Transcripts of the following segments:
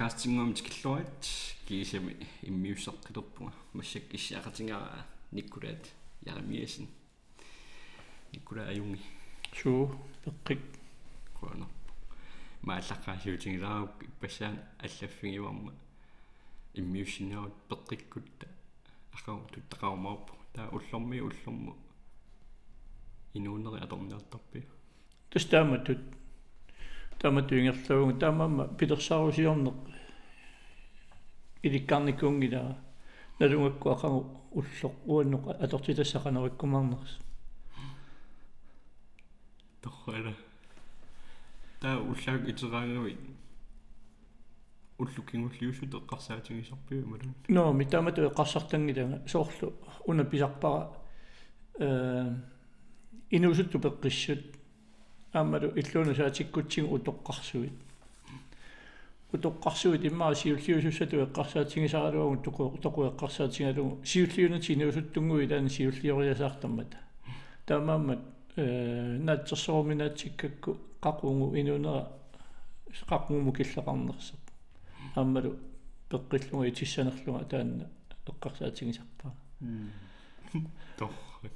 подкастингом тикиллуарит кисами иммиуссаққилерпуга массак иссаақатингара никкулаат ярамиасин никкула аюнги суу пеққик коно мааллаққаасиутингилаараук иппассаан аллаффигиварма иммиуссинерут пеққиккутта ахау туттақаумаарпу таа уллорму инуунери аторниартарпи тустааматут тааматуингерлугу таамаама питерсаарусиорнеқ иликкарникунгила налунгакку ақагу уллоқ уанноқ атортитассақанериккумаарнерс торрала таа уллаак итераангуи уллукингуллиусу теққарсаатингисарпиу малун но митаамату эққарсартангилага соорлу уна писарпара инуусутту пеққиссут аамалу иллуну саатиккутсигу утоққарсуит иммаа сиуллиусуссату эққарсаатингисаралуагу тоқу эққарсаатингалугу сиуллиуна тинуусуттунгуи таана сиуллиориасаартаммата таамааммат наатсерсоорминаатсиккакку қақунгу инунера қақунгу киллеқарнерсоқ аамалу пеққиллунга итиссанерлунга таана эққарсаатингисарпаа торр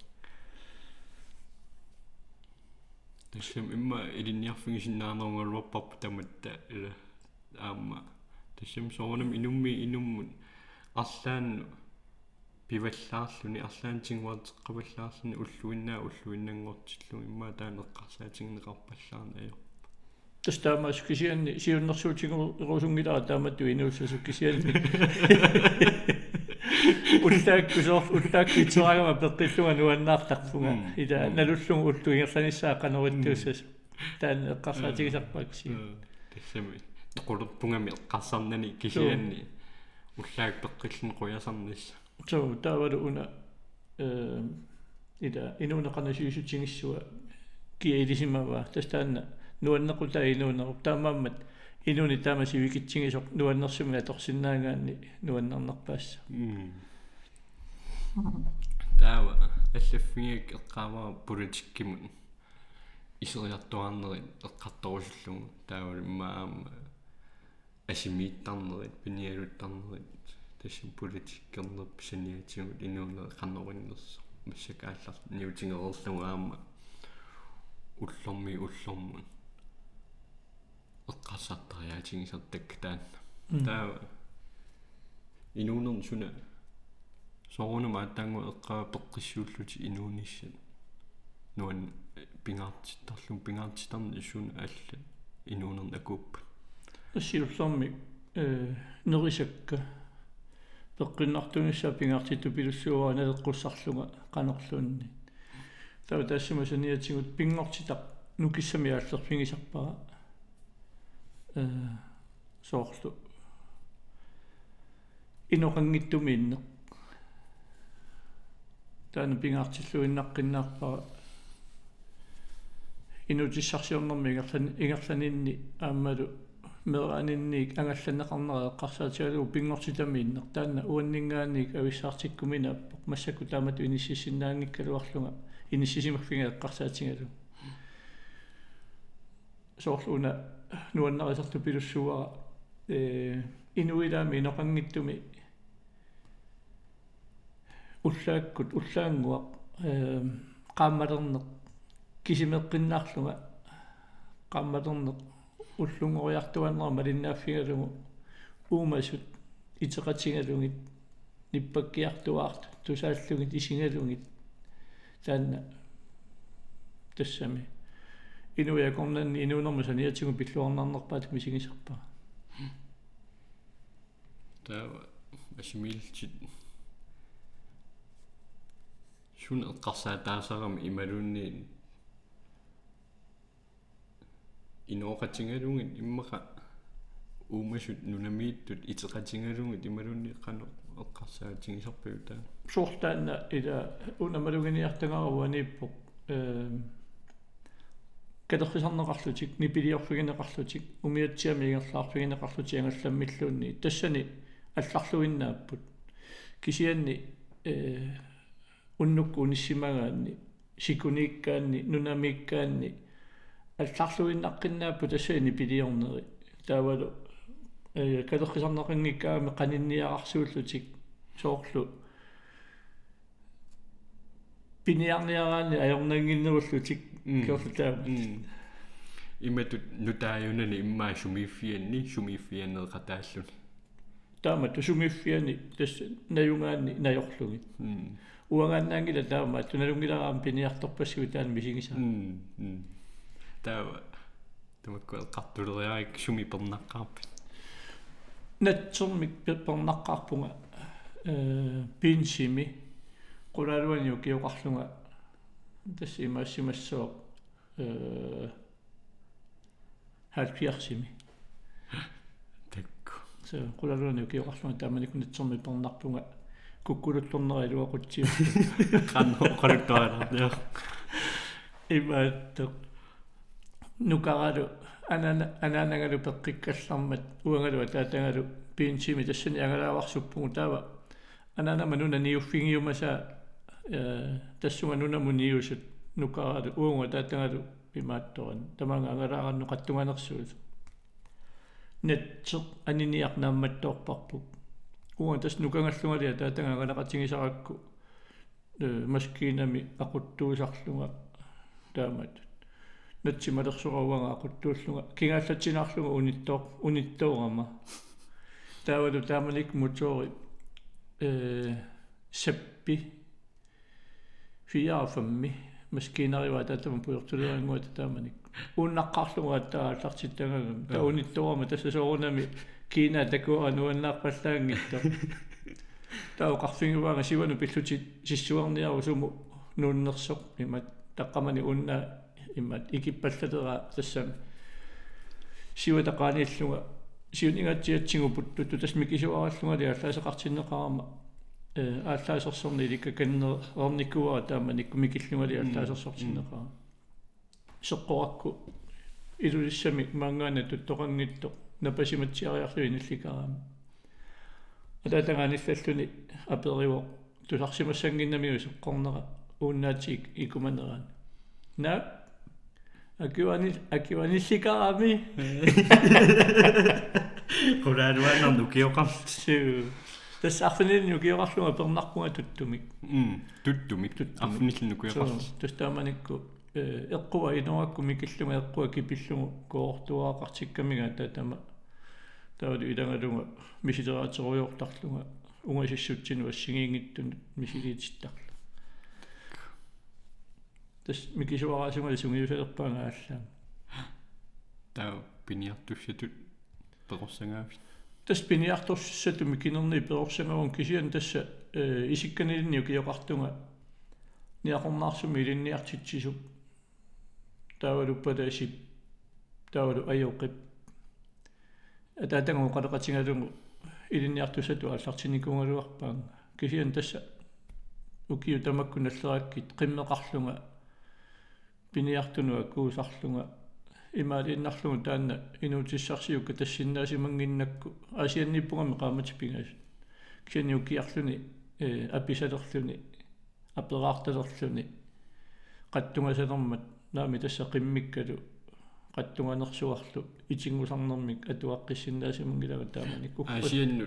тэшэм имма илинниарфигисиннаанерунгалуарпарпу таматта ила аама тэшэм соонам инуммут арлаан пиваллаарлуни арлаантингуартеққаваллаарлуни уллуиннангортиллу имма таанеққарсаатингнеқарпаллаарна аё тастаамас кисианни сиуннэрсуутингу русунгилаа тааматту инууссасу кисианни уллааккусоор пеққиллунга нуаннаартарпунга ида налуллугу уллуингерланиссаақанериттууссас таан эққарсаатигисарпаакси тассами тоқулерпунгами эққарсарнани кисианни уллаак пеққиллун қуясарнисса so таавалу уна ида инуунеқарнасиусутингиссуа киэлисимава тастаанна нуаннеқута инуунеруп таамааммат инуни таамасивикитсигисоқ нуаннерсуми аторсиннаагаанни нуаннернерпаасса таава аллаффигик эққааваа политиккимут исериартуарнерит эққарторусуллугу таавал имаама асимииттарнерит пиниалуттарнерит тасим политиккернерп саниатигут инуунер қаннориннерсо массакааллар ниутингерерлугу аама уллорму эққарсартариатигисартак таанна таава инуунерн суна соонума аттангу эққаа пеққиссууллути инуунissat нуан пингаартиттарни исsuuna алла инуунерн акууппа ассиуллэрми нерисакка пеққиннартунissaa пингаартитту пилуссуаа налеққуссарлунга қанерлуунни таа тассима саниатигут пингортитақ нукиссами ааллерфигисарпара соорлу иноқангиттумиинне таана пингаартиллуиннаққиннаарпара инутиссарсиорнэрми ингерланинни аамалу меранинник ангалланеқарнера эққарсаатигалугу пингортитамииннер таана уаннингаанник ависсаартиккуминааппоқ массаку таамату иниссисиннаангиккалуарлунга иниссисимерфинга эққарсаатингалу соорлуна нуаннерисарту пилуссуара инуилаами иноқангиттуми уллааккут уллаангуақ qaammalернеқ кисимеққиннаарлунга qaammalернеқ уллунгориартуаннера малиннааффигалугу уумасут итеқатингалугит ниппаккиартуаарту тусааллугит исингалугит таанна тассами инуякорнанни инуунерму саниатигу пиллуарнарнерпаат мисигисарпаа таава асимилчит шун эққарсаатаасарами ималуунни иноқатингалугит иммақа уумасут нунамииттут итеқатингалугит ималуунни қано эққарсаатингисарпиу таа суортаанна ида унамалугиниартагаруаниппоқ кадерсарнеқарлутик нипилиорфигинеқарлутик умиатсиамиингерлаарфигинеқарлути ангалламмиллуунни тассани алларлуиннааппут кисианни уннукку униссимагаанни сикуниккаанни нунамиккаанни алларлуиннаққиннааппу тассани пилиорнери таавалу калерқисарнақингиккаами qaninniaqarsuullуtik соорлу пиниарниараани ajornanginnerullutik киорлутаа иматут нутааюнани иммаа сумииффианнеқатааллуни таама тусумиффиани тас наюнгаани наёрлуги уангааннаангила таама туналунгилараам пиниарторпассуи таан мисигиса таа тамакку қартулериарик суми пернаққарпит натсэрмик пернаққарпунга пинсими qulaaluaniu kiuqarlunga tassi imaassimassoo halpiarsimi takku so qulaaluaniu kiuqarlunga taamanikkunatsermi pernerpunga kukkuluttorneriluа qutsi qannoqaluttuararniar imaatto nukaralu ananagalu peqqikkallarmat uangalu taatangalu pinsimi tassani angalaavarsuppунgu taava anana manuna niuffingiumasa tassunga nunammuniusut nukaralu uunga taatangalu pimaattoran tamanga angalaarannu qattunganersuut netseq aniniarnaammattoorparpuk uunga tas nukangallugalia taatanga angalaqatigisarакку maskiinami aquttuusarlunga taamat natsimalersuraruanga aquttuullunga kingaallatiinarlunga unittoorama taavalu taamanik motori sappi 4-5 maskiinariwa taatama puyortuleranguat taamanik unnaqqarlunga attaallartittangagam ta unittoorama tassasoorunami kiina takua nuannaarpallaangitto tauqarfinguvaanga sivanu pilluti sissuarniaru sumu nuunnersoq imat taqqamani unna immat ikippallatera tassam siva taqaaniallunga siun ingatsiatsinguputtu tasmikisuarallunga liallaaseqartinneqarama ааллаасерсорни иликкаканнерниккуара тааманикку микиллунgali ааллаасерсортиннеқара соққоракку илулиссами маангаана туттоқангитто напасиматсиариарлу инулликараами атаатагааниллаллуни апериво тусарсимассангиннамиу соққорнера ууннаатик икуманерaan на акиванилликараами qulaaluannarnu kiоqarlu tas arfinilnu kiorarlunga pernarpunga tuttumik tuttumik arfinilnu kiоqarlu tas taamanikku eqquva inuakku mikillunga eqqua kipillungu koortuaaqartikkamiga taatama taavalu ilangalunga misileraatserujortarlunga ungasissutсину ассигиингиттун мисилиититтарла tas mikisuaraasunga sungiusalерпаанга ааллаа таа пиниартуссатут перорсангаавит tas piniartorsussatu mikinerni peorsangaun kisian tassa isikkanilniu kiоqartunga niaqornaarsumi ilinniartitsisuk taavalu palaasip taavalu ajoqip ataatangu qaleqatingalungu ilinniartussatu aallartinikungaluarpaanga kisian tassa ukiu tamakkunallerakkit qimmeqarlunga piniartunua kuusarlunga имаалииннарлугу таанна инуутиссарсиукка тассиннаасимангиннакку асианниппугами qaamatipingas кисаниуккиарлуни аписалерлуни апераарталерлуни qattungasалермат наами тасса qimмиккалу qattunганерсуарлу итингусарнэрмик атуаққиссиннаасимангилага тааманикку асианну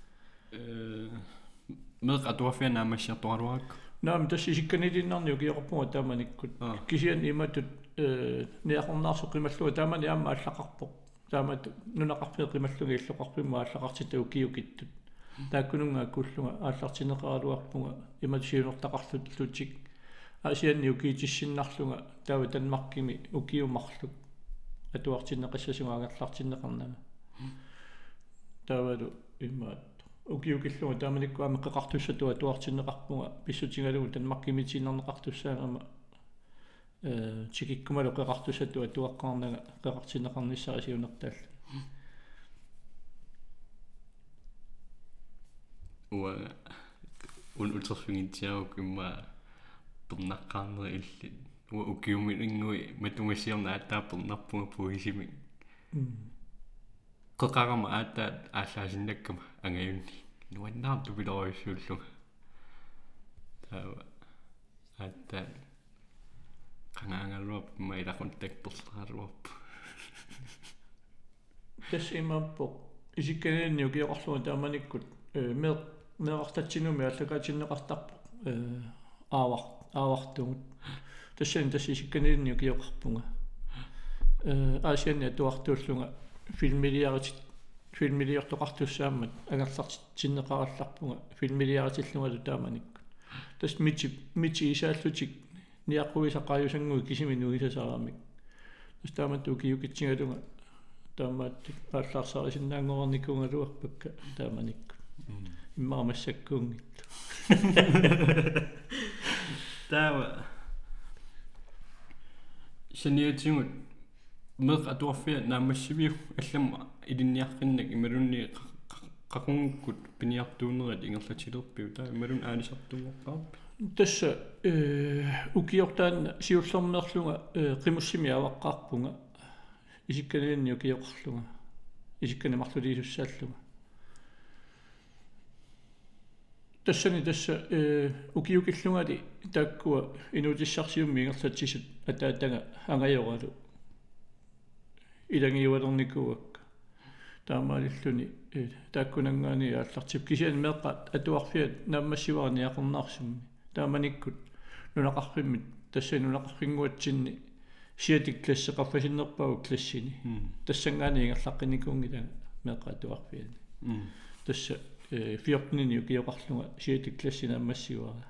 меқ атуафианаамассиартуалуаракку наами тасси исикканилиннарниу киоқарпунга тааманиккут кисиан иматут неақорнаарсу қималлуга таамани аама аллақарпоқ таамат нунақарпиа қималлуги иллоқарпимма аллақартитау киукиттут тааккунунгаа куллунга ааллартинеқаралуарпунга имат сиунертақарлутлутик асианни укиитиссиннарлунга таава танмаркими укиумарлук атуартинеқассасунга агерлартинеқарнама таавалу имаат укиукиллунга тааманиккуама қеқартуссатуа атуартинеқарпунга писсутингалугу танмаркимитиннарнеқартуссаагама чикиккумалу qeqartussattua tuaqqaarnaga qeqartinneqarnissara siunertaalla уа ултерфингитсиарук имма пернаққарнери илли уа укиуминингуи матунгасиорна ааттааппернарпунга пуисими qeqarama aattaat ааллаасиннаккама ангаюнни нуаннаарту пилориуссууллуга таава ааттаат qangaangaluap mailaqun takperleraluap tas imappoq Isikkanini ukiorluga taamanikkut meeqartatsinumi allakaatinnеқартарпо aavartugut тассани тасси иsikkanini ukiоқарпунга аасианни атуартууллунга фильмилиортоқартуссааммат агерлартиннеқаралларпунга фильмилиаратиллунгалу тааманикку тас мити исааллутик ниаққуисаққаажусангуи кисими нуисасаарамик тас тааматту киукитсингалунга таамааттик ааллаарсаарисиннаангорникунгалуарпакка тааманикку иммаамассаккуунгитту таава саниатингут меқ атуарфиа наамассивиу аллама илинниаққиннак ималунни қақунгуккут пиниартуунерат ингерлатилерпиу таа ималун аалисартугоққарпи тасса укиортаанна сиуллэрмеерлунга қимуссими аваққарпунга исикканинни укиоқарлунга исиккани марлулиисуссааллунга тассани тасса укиукиллунгали тааккуа инутиссарсиумми ингерлатсисут атаатага ангайоралу илангиуалерникуакка таамаалиллуни тааккунангаани ааллартип кисиан меэққат атуарфиат нааммассиваарниақарнаарсумми тааманиккут нунақарфиммит тассани нунақарфингуатсинни сиатик классеқарфасиннерпагу классини тассангаани ингерлаққиникуунгилага меэққа атуарфиани тасса 14-ни укиоқарлунга сиатик классина аммассивара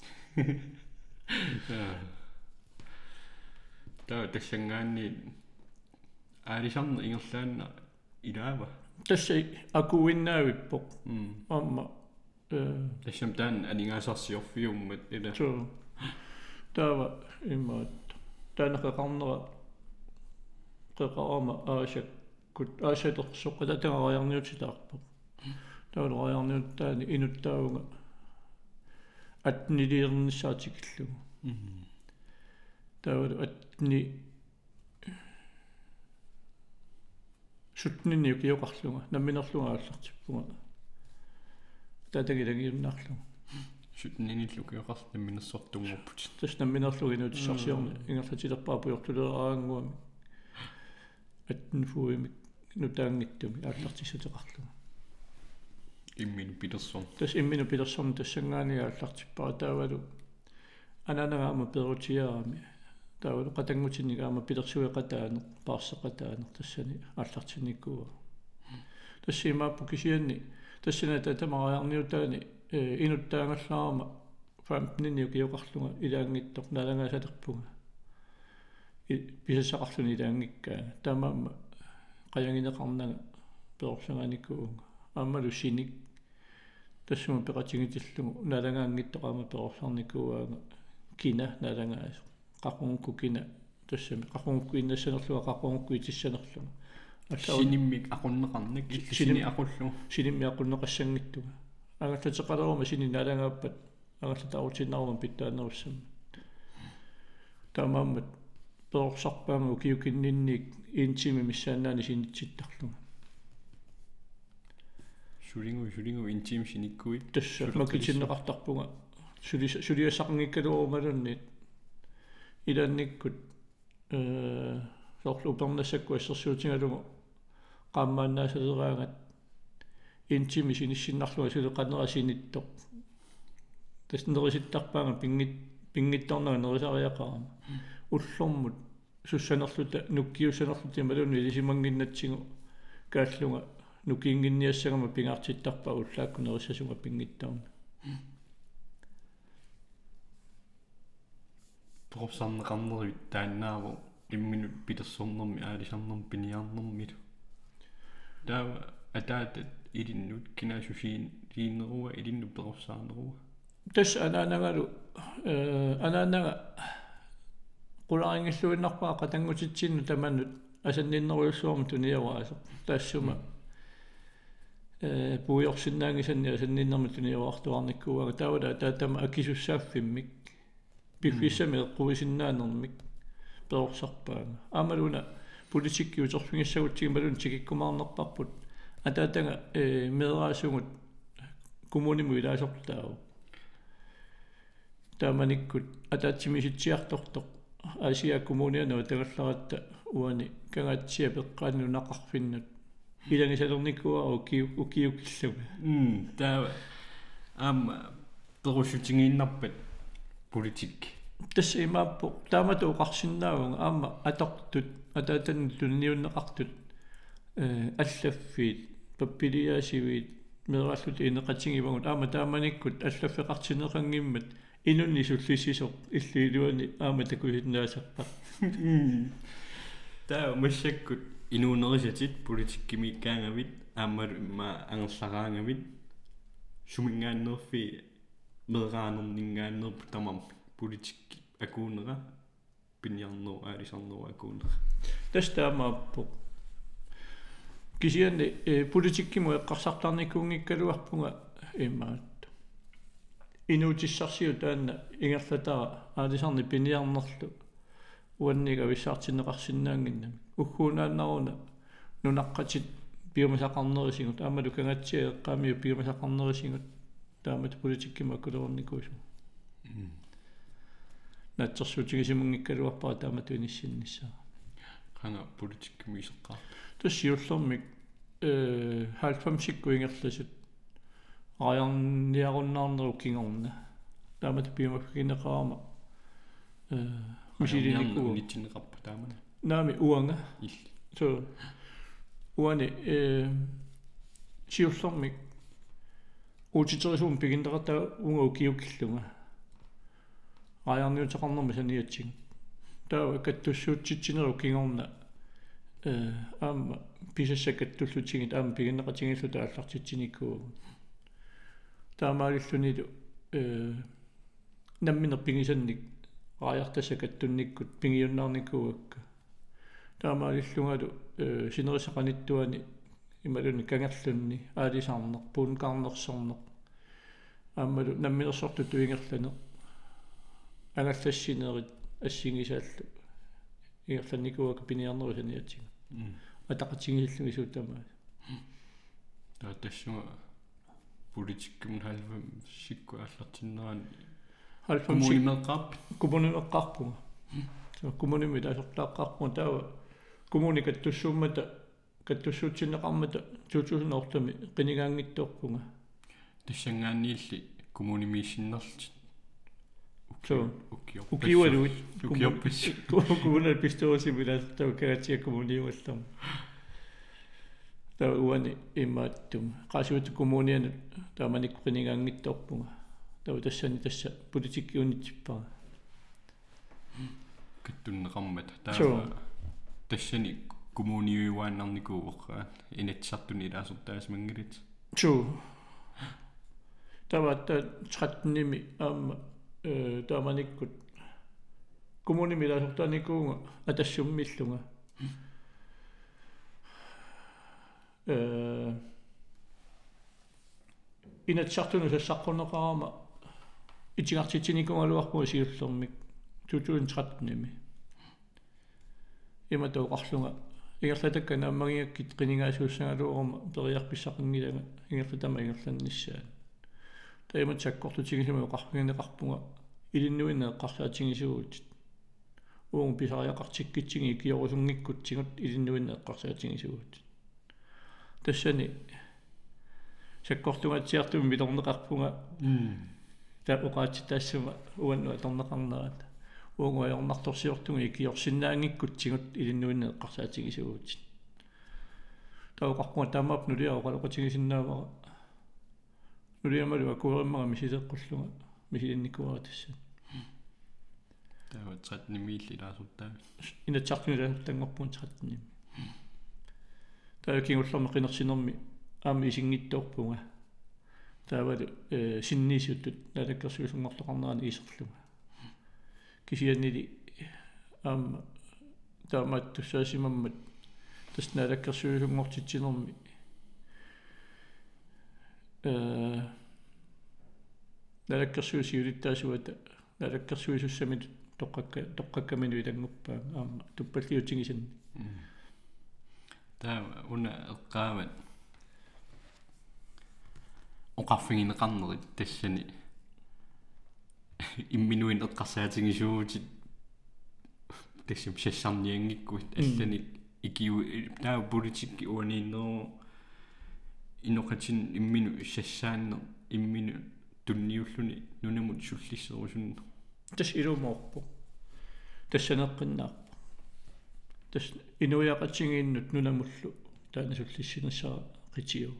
таа тассангаани аалисарна ингерлаанна илаава тасса акуиннаавиппоқ амма тассам таан алингаасарсиорфиуммат ила таава имаат таанақақарнера қеқарама аасаккут аасатерсоққата тагариарниутилаарпоқ таулориарниуттаани инуттаагунга атнилиернissaатикиллугу таулу атни сутнинни укиоқарлунга намминерлунга ааллартиппунга таатагилагиуннаарлунга сутниниллу киоқарл намминерсортунгорпут тас намминерлуги инутиссарсиорни ингерлатилерпаа пуйортулераангуами атнфуимик нутаангиттуми ааллартиссутеқарлунга иммину питерсон тас иммину питерсон тассангаани ааллартиппара таавалу ананагаама перутиарами таавалу қатангутиннигаама питерсуеқатаане паарсеқатаане тассани ааллартинниккуа тассимааппу кисианни тассина татамариарниутаани инуттаангаллаарама 15-нни укиоқарлунга илаангиттоқ налангаасалерпунга писасақарлуни илаангиккаана таамаама қаянгинеқарнага перорсанганиккуунга аммалу синик тассума пеқатингитиллугу налангаангиттоқаама перорсарниккуаага кина налангаас қақунгукку кина тассами қақунгукку иннассанерлуга қақунгукку итиссанерлуга синиммик ақуннеқарник сини ақуллу синимми ақуннеқассангиттуга агаллатеқалерума сини налангааппат агаллатаарутиннарума питтаанеруссам таамааммат перорсарпаама укиукиннинник интими миссаанаани синитситтарлуга шулингу интим синиккуи тасса макитиннеқартарпунга сулиассақангиккалуурумалунни иланниккут сорлу пернассакку ассерсуутингалугу qaammaannaasaleраангат интими синиссиннарлуга сулеқанерасиниттоқ таснериситтарпаага пингитторнага нерисариақарама уллормут суссанерлута нуккиуссанерлути малуни илисимангиннатсигу кааллунга нукиингинниассагама пингаартиттарпа уллаакку нерissасунга пингиттарна пропсарнеқарнервит тааннааву имминут питерсорнерми аалисарнерми пиниарнермилу таава атаатат илиннут кинаасусиин лиинеруа илинну перорсаарнеруа тас анаанагалу анаанага qulaaringilluinnarpaa qatangutitsinnu tamannut асанниннеруйуссуарму туниаваасо таассума пуйорсиннаангисанни асанниннерми туниаваартуарниккуага таавала таатама акисуссааффиммик пиффиссами эққуисиннаанермик перорсарпаага аамалуна политиккиутерфингиссагутсигималун тикиккумаарнерпарпут атаатага медераасугут коммуниму илаасортаау тааманиккут атаатсимиситсиартортоқ асиа коммунианаа тагалларатта уани кангаатсиа пеққаанну нақарфиннут иланисалерникуа укиукиллуга таа перусутингииннарпат политик тасса имааппо таамату уқарсиннаавунга аама атортут атаатан тунниуннеқартут аллаффиит паппилиаасивиит мераллут инеқатингивагут аама тааманиккут аллаффеқартинеқангиммат инунни суллиссисоқ иллиилуани аама такусиннаасарпа таа массаккут инуунерисатит политиккимиккаангавит аамалу имма ангерлараангавит сумингааннерфи мераанернингааннерпу тамам политикки акуунера пиньярнер аалисарнер акуунера тастаамааппо кисианни политиккиму эққарсартарникуунгиккалуарпунга имаат инуутиссарсиу таанна ингерлатара аалисарни пиньярнерлу уаннига виссаартинеқарсинаангиннами уггуунааннаруна нунаққатит пиумасақарнерисигут аамалу кангатсиа эққаамиу пиумасақарнерисигут таамат политиккима акулерникуусу натсерсуутигисимунгиккалуарпара таамату иниссиннссаа ханга политиккими исеққар тассиуллэрмик 90-сикку ингерласут аярниаруннаарнеру кингорна таамат пиумаффигинеқарама мисилиникуу нитсинеқарпа таамана наами уанга илли so уани сиуллэрмик уутитерисуум пигиндеқартаа унга укиуккиллунга аярниутеқарнерми саниатсиг таа каттуссуутситсинеру кингорна аама писассакаттуллутигит аама пигиннеқатингиллута аллартитсиниккуу таамаалиллунилу намминер пигисанник аяртассакаттунниккут пигиуннаарникууакка таамаалиллунгалу синерисақаниттуани ималуни кангерлунни аалисаарнер пуункаарнерсорнер аамалу намминерсорту туингерлане агаллассинерит ассигисааллу ингерланникууака пиниарнеру саниатсига атақатингиллугисуутамаа таа тассуга политиккум халвам сикку аллартиннерани коммунимеққарп коммунимеққарпунга коммуними таасортааққарпун таава коммуникаттуссууммата каттуссуутсинеқармата 2008 қинигаангиттуорпунга тассангаанниилли коммунимииссиннерлти укиуалуит укиоппис коммунал пистоосимилаастау кагатиа коммуниуаллам таа уани имааттум қасуут коммуниан тааманик қинигаангиттуорпунга таа тассани тасса политиккиунитсиппара каттуннеқармат таа тассани коммуниуааннарникууоққаат инатсартуни илаасортаасмангилит чу таватта 13-ними аама тааманиккут коммуними илаасортааникуунга атассуммиллунга инатсартуну сассаққунеқарама итигартитсиникунгалуарпуга сиуллермик 2013-ними иматоқарлунга ингерлатакка нааммагиаккит қинигаасууссангалуорма периарписсақингилага ингерлатама ингерланниссаат таимат саккортутигисима оқарфигинеқарпунга илиннуинна эққарсаатингисууут уун писариақартиккитсиги киорусунгиккутсигут илиннуинна эққарсаатингисууут тассани саккортугатсиартум милорнеқарпунга таа оқаатитаассума уаннуа торнеқарнерат унгуайорнарторсиортунги киорсиннаангиккутсигут илиннуинна эққарсаатингисууут таоқарпунга таамаап нулиаоқалоқатингисиннаавара нулиамалу акуериммага мисисеққуллунга мисилинникуаратассат таа 13-ними лаасуттаа инатсартунилаасуттангорпун 13-ними таа кингуллерме қинерсинерми аами исингиттуорпунга таавалу синнисуттут налаккерсуусунгорлоқарнерани исерлунга кисианнили аама таамаат туссаасимаммат тасналаккерсуусунгортитсинерми налаккерсуусиулиттаасуата налаккерсуусуссамит тоққаккамину илангуппаа аама туппаллиутингисанни таа уна эққаават оқарфигинеқарнерит тассани имминуин эққарсаатингисуутит тассим сассарниангиккуит аллани ikiu taa politik uaniinneroo inoqatin imminu sassaanne imminu tunniulluni nunamut sullisserusunna tas ilumorpu tassaneqqinnaarpu tas inuiaqatingiinnut nunamullu taana sullissinersaa qitiu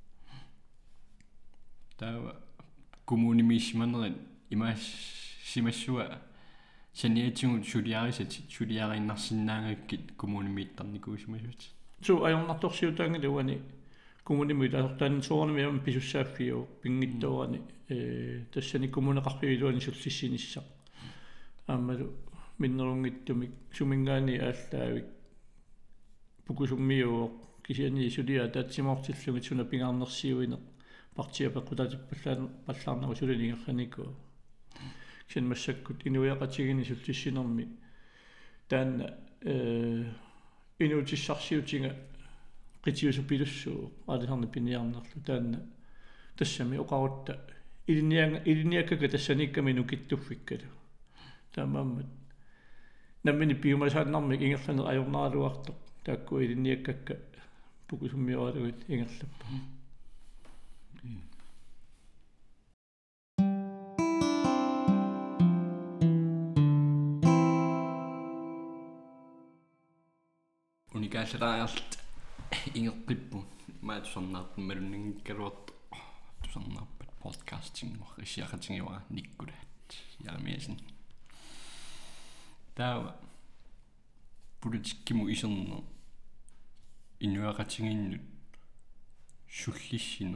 taa kommunimiismanerin imaas simassua saniatingut suliarinnarsinnaangakkit kommunimiittarnikuusimasut so ajornartorsiutaangili uani kommunimit asortaan soornamiam pisussaaffiu pingittoorani tassani kommuneqarpiluani sullissinissa aammalu minnerungittumik sumingaani ааllaavik pukusummiuo kisiani sulia taatsimortillugit suna pingaarnersiuine partia pequtatippallaan pallaarnaru sulinigerranikuu kisen massakkut inuiaqatigini sullissinermi taanna inuutissarsiutinga qitiusupilussuu aalisarni piniarnerlu taanna tassami oqarutta iliniakkaka tassanikkami nukittuffikkalu taamammat nammini piumasaannarmik ingerlaner ajornaaluartoq taakku iliniakkakka pukusummioralugit ingerlappa unikaaleraajart ingeqqippu maatusarnaartummaluningikkaluart tusarnaarpat podcasting issiaqatingiwa nikkulaat yaamiasin taa politikkimu iserner inuaqatinginnut sullissiner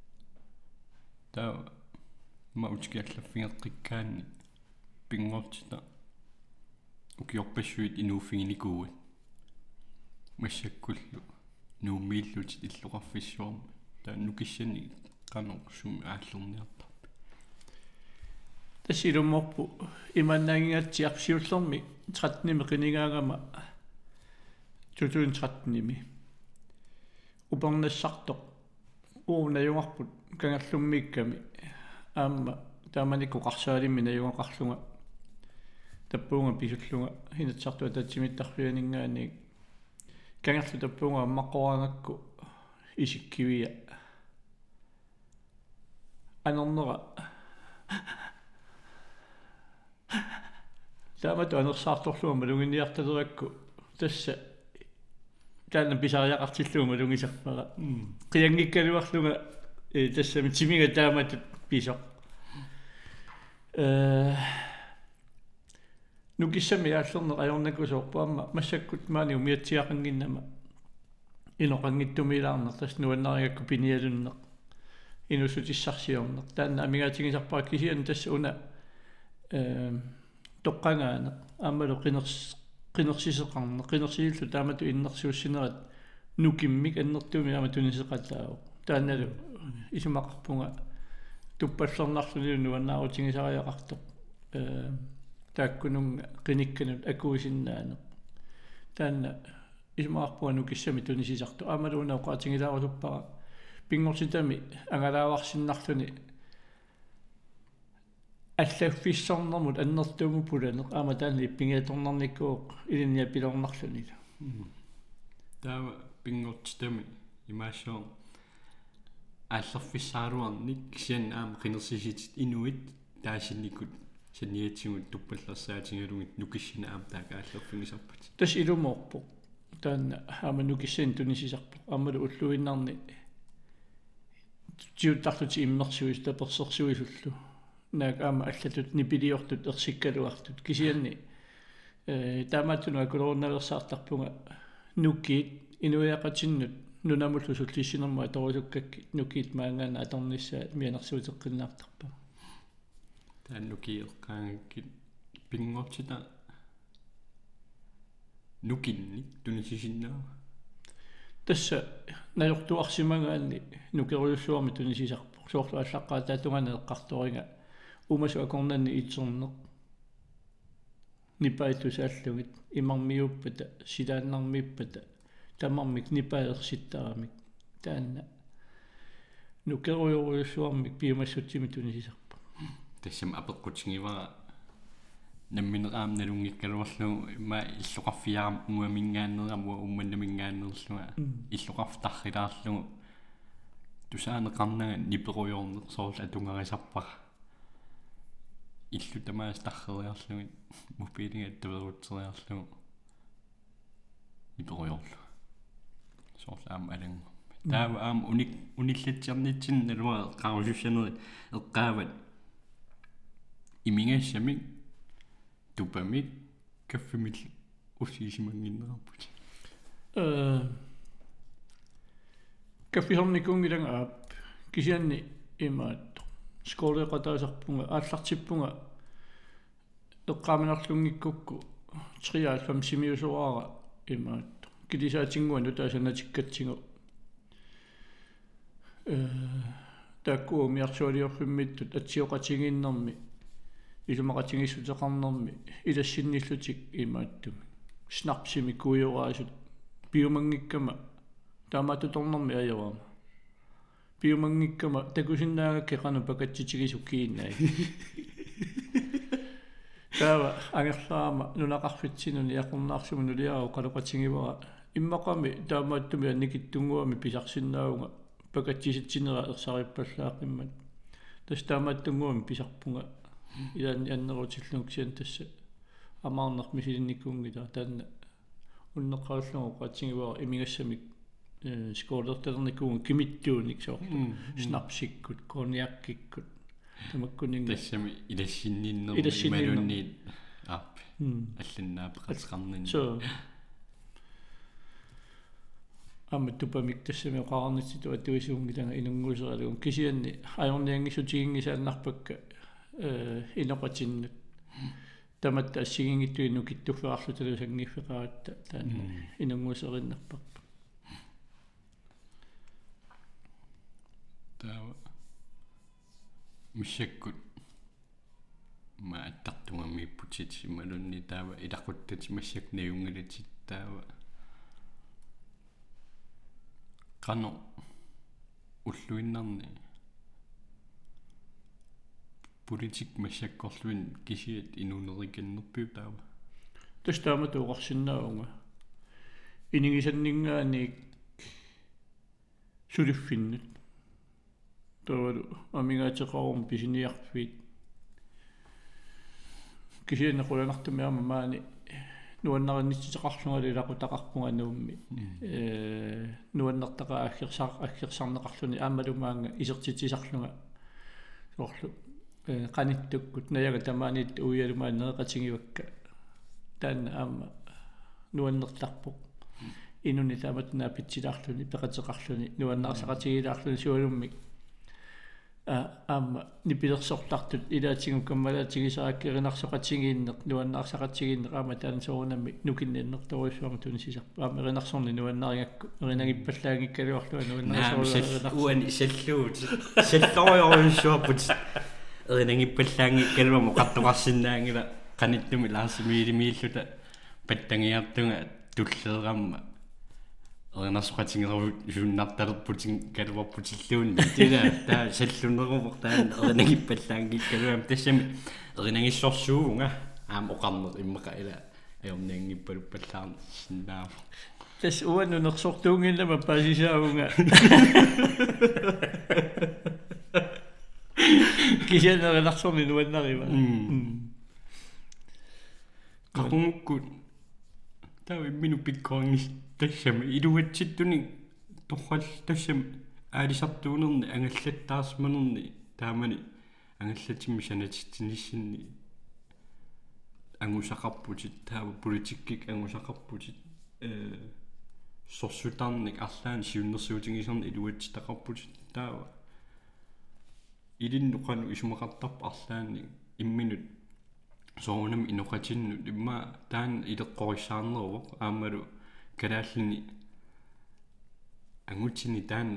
taa ma utikiallaffingeqqikkaanni pingortita ukiorpassuit inuuffinginikuuat массаккуллу нуумииллути иллоқарфиссуарма тааннукиссани канорсум ааллерниартарпа тассилумморпу иманнаагингатсиарсиуллерми 13-ними қинигаагама 2013-ними упернассартоқ уунаюнгарпут кангаллуммиикками аама тааманику қарсаалимми наюнгақарлунга таппуунга писуллунга хинатсартуа татсимиттарфианингаани kangerlu tappunga maqqoraangakku isikkivia anernera taamatu anersaartorluga malunginiartalerikku tassa taanna pisariaqartilluga malungisarpara qiangikkaluarluga tassami timiga taamatut pisoq nukissami aallerner ajornakusoorpaamma massakkut maani umiatsiaqanginnama inoqangittumilaarner tas nuannariakku pinialunneq inusutissarsiorneq taanna amigaatigisarpaa kisian tassa una toqqangaane aammalu qinersiseqarneq qinersiillu taamatu innersuussinerat nukimmik annertuumi aamatunisseqallaau taannalu isumaqarpunga tuppallernerluni nuannaarutingisariaqartoq taakkununga qinikkanut akuusinnaane taanna ismaarpuga nukissami tunisisartu aamaluuna uqaatingilaaruluppara pingortitami angalaavarsinnarluni аллаффиссорнэрмут аннертууму пуланеқ аама таанни пингиаторнарниккууq илинниа пилорнарлуни таава пингортитами имаашоо аллерфиссааруарник кисиан аама қинерсиситит инуит таасинникут саниатсигут туппаллерсаатингалугит нукиссина аама таага аллерфигисарпат тас илумоорпо таанна аама нукиссаан тунисисарпо аамалу уллуиннарни тиуттарлути иммерсуис таперсерсуисуллу наак аама аллатут нипилиортут ерсиккалуартут кисианни таамааттуну акулорунналерсаартарпунга нуккиит инуяақатиннут нунамуллу суллиссинерма торусуккакки нуккиит маангаана аторниссаа мианерсуутеққиннаартарпа тааннукиеққаангаккит пингортита нукинни тунисисиннаа тасса наёртуарсимагаанни нукеруйуссуарми тунисисарпо соорлу аллаққаа таатунгана эққарторинга умасу акорнанни итсернеқ нипаитусааллугит имармиуппата силааннармииппата тамармик нипаерситтарамик таанна нукеруйуруйуссуармик пиумассутсими тунисисарпо тассам апеққутингивара намминераам налунгиккалуарлу има иллоқарфиарам уамингааннерамуа умманнамингааннерлуга иллоқарфтаррилаарлугу тусаанеқарнага ниперуйорнеқ соорл атунгарисарпара иллу тамаас таррериарлугит мобилинга таверутсериарлугу ниперуйорлу соорл аам алангу таава аам униллатсиарнитсин налуа qaarussussанери эққаават имингассамик тупамик каффимил уссисимангиннераппут каффихорникунгиланга аап кисианни имаат сколеқатаасарпунга ааллартиппунга эққааминарлунгиккукку триаалфам симиусуаара имаат килисаатингуану таасанатиккатсигу такку миарсуалиорфиммиттут атсиоқатигиннэрми илумақатигиссутеқарнэрми илассинниллутик имааттуми снапсими куйораасут биумангиккама таамаатуторнэрми аёрама биумангиккама такусиннаагакке қану пакатситигисуккииннаи таава ангерлаама нунақарфитсинуни яқорнаарсуму нулиарау қалоқатигивара иммақами таамааттуми анникиттунгуами писарсиннаауга пакатсиситсинера ерсариппаллаақиммат тастаамааттунгуами писарпунга илаани аннерутиллунуксиан тасса амаарнер мисилинниккуунгила таанна уннеққаруллугу qaatсигивара имигассамик скоолертерниккуун кимиттууник соо снапсиккут кониаккиккут тамаккунинга тассами илассинниннер ималунниит аап алланнаап qatqarnin so амматтупамик тассами оқарнитситу аттуисуунгилага инунгуусералугун кисианни аёрниангиссутигингисааннарпакка иноқатиннут таматта ассигингиттуинну киттуффеарлу талусангиффеқаратта таана инунгуусериннарпарпа таава мишаккут ма аттартунгаммииппутит ималунни таава илақуттат массак наюнгалатит таава qano уллуиннарни политик массаккорлуин кисиат инунериканнерпиу таава тастаама туоқарсиннаавунга инигисаннингааник сулиффиннут тавалу амигаатеқарум писиниарфит кисианнеқуланартумиарма маани нуаннариннитситеқарлунгалу илақутақарпунга нуумми нуаннертаqa аггерсарнеқарлуни аамалумаанга исертитисарлунга соорлу qaниттуккут наяга тамаанит уиалумаан неэқатигивакка таанна аама нуаннерларпоқ инуни тааматнаа питсилаарлуни пеқатеқарлуни нуаннаарсақатигилаарлуни суалуммик аама нипилерсорлартут илаатигум каммалаатигисааккеринарсоқатигииннеқ нуаннаарсақатигииннеқ аама таан соорунамми нукиннерторуйссуама тунисисарпа аама еринарсорни нуаннарингакку еринагиппаллаагиккалуарлуа нуаннаарсоорунаа уани саллуут саллориоруйссуарпут еринагиппаллаангиккалуама қаттоқарсинаангила qaниттуми лаарсимиилимииллута паттангиартунга туллеерамма еринарсоқатигеру жуннарталерпутин калуарпутиллуун тила таа саллунерумор таан еринагиппаллаангиккалуам тассами еринагиссорсуунга аама оқарнер иммақа ила аёрниангиппалуппаллаарни синнаа тас уаннунерсортуунгиллама пасисаавунга кисианеринарсорни нуаннарива qaqungukku tawa minu pikkoongis тассами илуатситтуни торрал тассами аалисартуунерни ангаллаттаарсманерни таамани ангаллатимми санатитсиниссинни ангусақарпутит таава политиккик ангусақарпутит сорсутаарник арлаани сиуннерсуутингисерни илуатситақарпутит таава илиннуқану исумақартарпа арлаани имминут соонам иноқатинну имма таан илеққориссаарнеруво аамалу калааллини ангутсини таана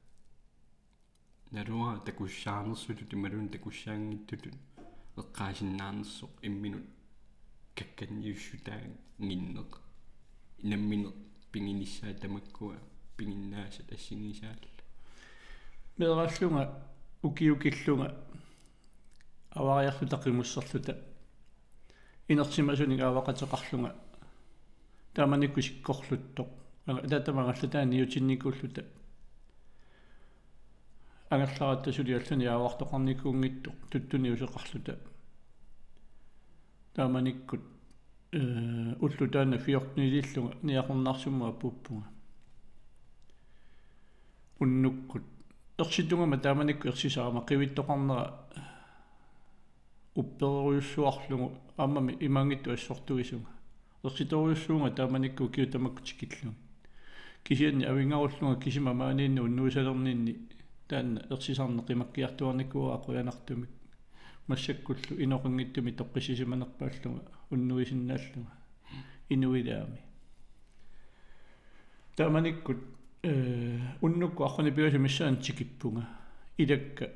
наруа такуссаарнерсулут ималун такуссаангиттутут эққаасиннаарнерсо имминут какканниуссутаа гиннеқ инамминеқ пингиниссаа тамаккуа пингиннаасат ассигисаалла мераллунга укиукиллунга авариарлу тақимуссерлута инерсимасунигаавақатеқарлунга тааманикку сиккорлуттоқ таатамагалла таани ютинникуллута ангерларатта сулиаллани аавартоқарникуунгиттоқ туттуни усеқарлута тааманиккут уллу таана фиортнилиллунга ниақорнаарсумма аппуппунга уннуккут ерситунгама тааманикку ерсисаама қивиттоқарнера упперуйуссуарлугу аамами имангитту ассортугисунга ерситоруйуссуунга тааманикку киутамаккутикиллуг кисианни авингаруллунга кисима маанинну уннуисалернинни таанна ерсисарне қимаккиартуарникуа ақуянартумик массаккуллу иноқингиттуми тоққисисиманерпааллунга уннуисиннааллунга инуилаами тааманиккут уннукку архуни пиуси миссаан тикиппунга илакка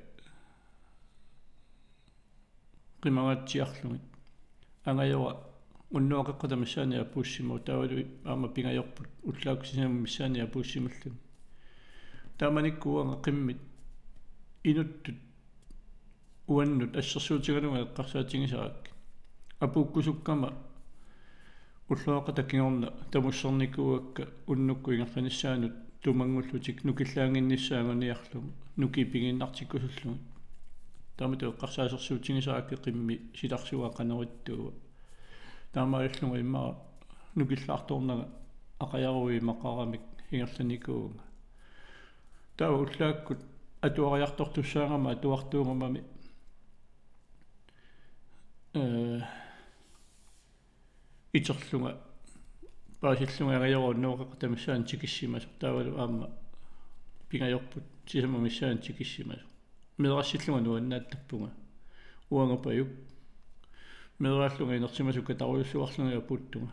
qimagatsiarlungit angajora unnuaqeqqata missaania puussimu taavalu aama pingajorput ullaakusinam missaania puussimallun taamanikkuanga qimmit inuttut uannut assersuutigalunga eqqarsaatigisarak apuukkusukkama ulluaqata kingorna tamussernikkuakka unnukku ingerlanissaanut tumangullutik nukillaanginnissaanguniarlugu nukipinginnartikkusullugu таамату эққарсаасерсуутигисаакки қимми силарсуа қанериттуува таамааллунга иммара нукиллаарторнага ақаяруи мақарамик ингерланикуунга таа уллааккут атуариартортуссаагама атуартуугамами итерлунга паасиллунга агаяруу нуоқеқатамиссаан тикиссимасо таавалу аама пингайорпут сисама миссаан тикиссимасо медрассиллунга нуаннааттарпунга уангапаюк медрааллунга инерсимасукка таруйуссуарлунга путтунга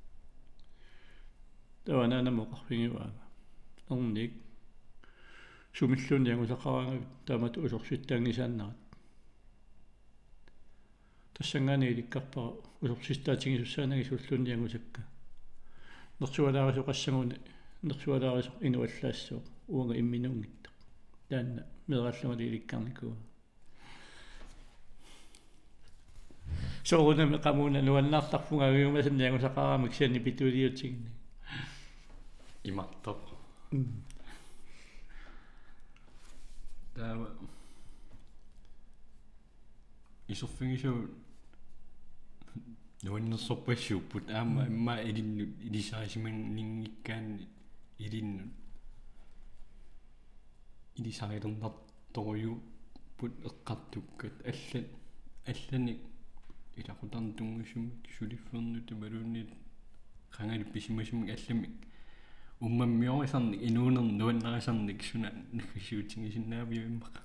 таванаанамоқарфингиваага орник сумиллуни ангусақараангавит таамату усорситтаангисааннарат тассангаани иликкарпара усорсистаатигисуссаанаги суллуни ангусакка нерсуалаарисо qassanguni нерсуалаарисо инуаллаассоо уанга имминунгитта таанна медрааллунга иликкарникуа соорунами qamuna nuannaartarpunga agiumасанни ангусақараамик сианни питулиутигни имартоқ таава исоффигису нуаннерсорпассууппут аама имма илиннут илисаасиманнингиккаанни илиннут илисаалернарторюу пут эққартуккат аллани илақутарнтунгуссумик сулиффернут малуунит қангали писимасумик алламик уммаммиорисарник инуунер нуаннерисарник суна нахисуутингисиннаавиуиммақа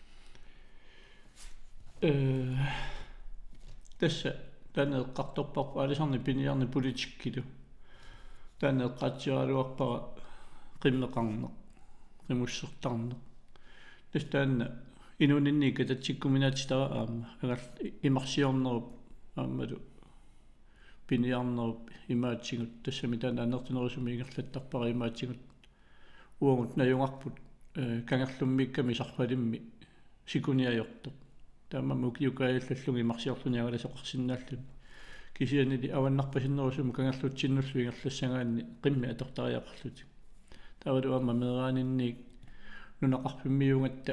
тасса таанеэққарторпарпа алисарни пиниарни политиккилу таанеэққаатсиаралуарпара қиммеқарнеқ qimmussертарнеқ тастаанна инуунинника татсиккуминаатитара аама агал имарсиорнеруп аамалу пиниарнеруп имаатсигут тассами таана анертинерусуми ингерлаттарпара имаатсигут уангут наюнгарпут кангерлуммикками сарфалимми сикуниаёртоқ таамаммук юкааллаллуги имарсиорлуни агаласоқарсинааллуни кисианили аваннарпасиннерусуми кангерлутсиннуллу ингерлассагаанни қимми атортариақарлути таавалу аама мераанинник нунақарпиммиунгатта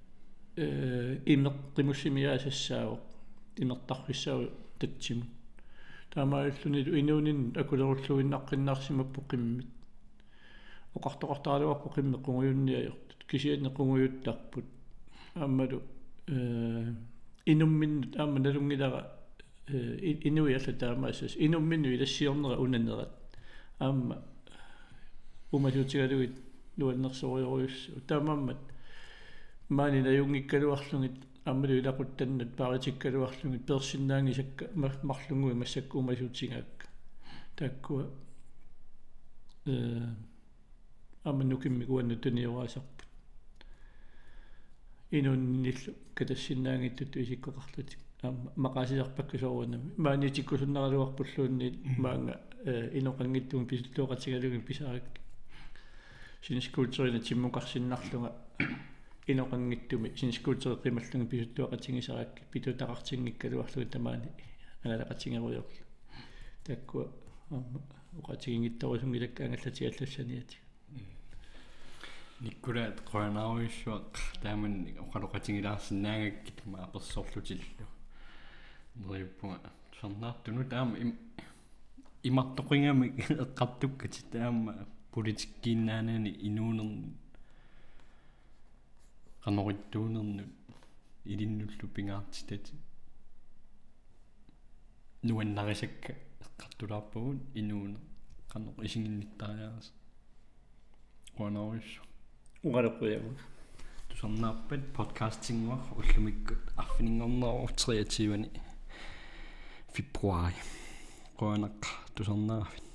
имеққимуссимиаасассаавоқ имертарфиссау татсиму таамааллунилу инуунин акулеруллуиннаққиннаарсимаппу қиммит оқартоқартаалуарпу қимми қунгуйунниаёртут кисианни қунгуйуттарпут аамалу инумминнут аама налунгилара инуиалла таамаассас инумминну илассиорнера унанерат аама умасуутигалугит нуаннерсориоруйуссу таамааммат маанина юнгиккалуарлугит аммалу илақуттаннат паритиккалуарлугит персиннаангисакка марлунгуи массакку умасуутигаакка тааккуа амманукимми куанну туниораасарпут инунниллу катассиннаангиттут исиккоқарлутик аама мақасиарпакку соорунами маанитиккусуннаралуарпуллуунни маанга иноқангиттуми писуллуоқатигалугин писааракки синискуултерина тиммуқарсиннарлунга иноқангиттуми синискуултери қималлунги писуллуоқатигисаракки питутақартингиккалуарлуги тамаани аналеқатингеруйорла таккуа уқатигингиттарусунгилаккаангаллати никкулаат qoanaaruissuaq тааманни оқалоқатингилаарсинаангаккит маақерсоорлутиллу нериппуга сорнаартуну таама имартоқингами эққартуккати таама политиккииннаанани инуунерни qanorittuunernu илиннуллу пингаартитати нуаннарисакка эққартулаарпагун инуунер qano исингинниттариарас qoanaaruissu угалеққуяма тусарнаарпат подкастингуар уллумиккут арфинингорнеру 23 февруари qoanaq тусарнааффит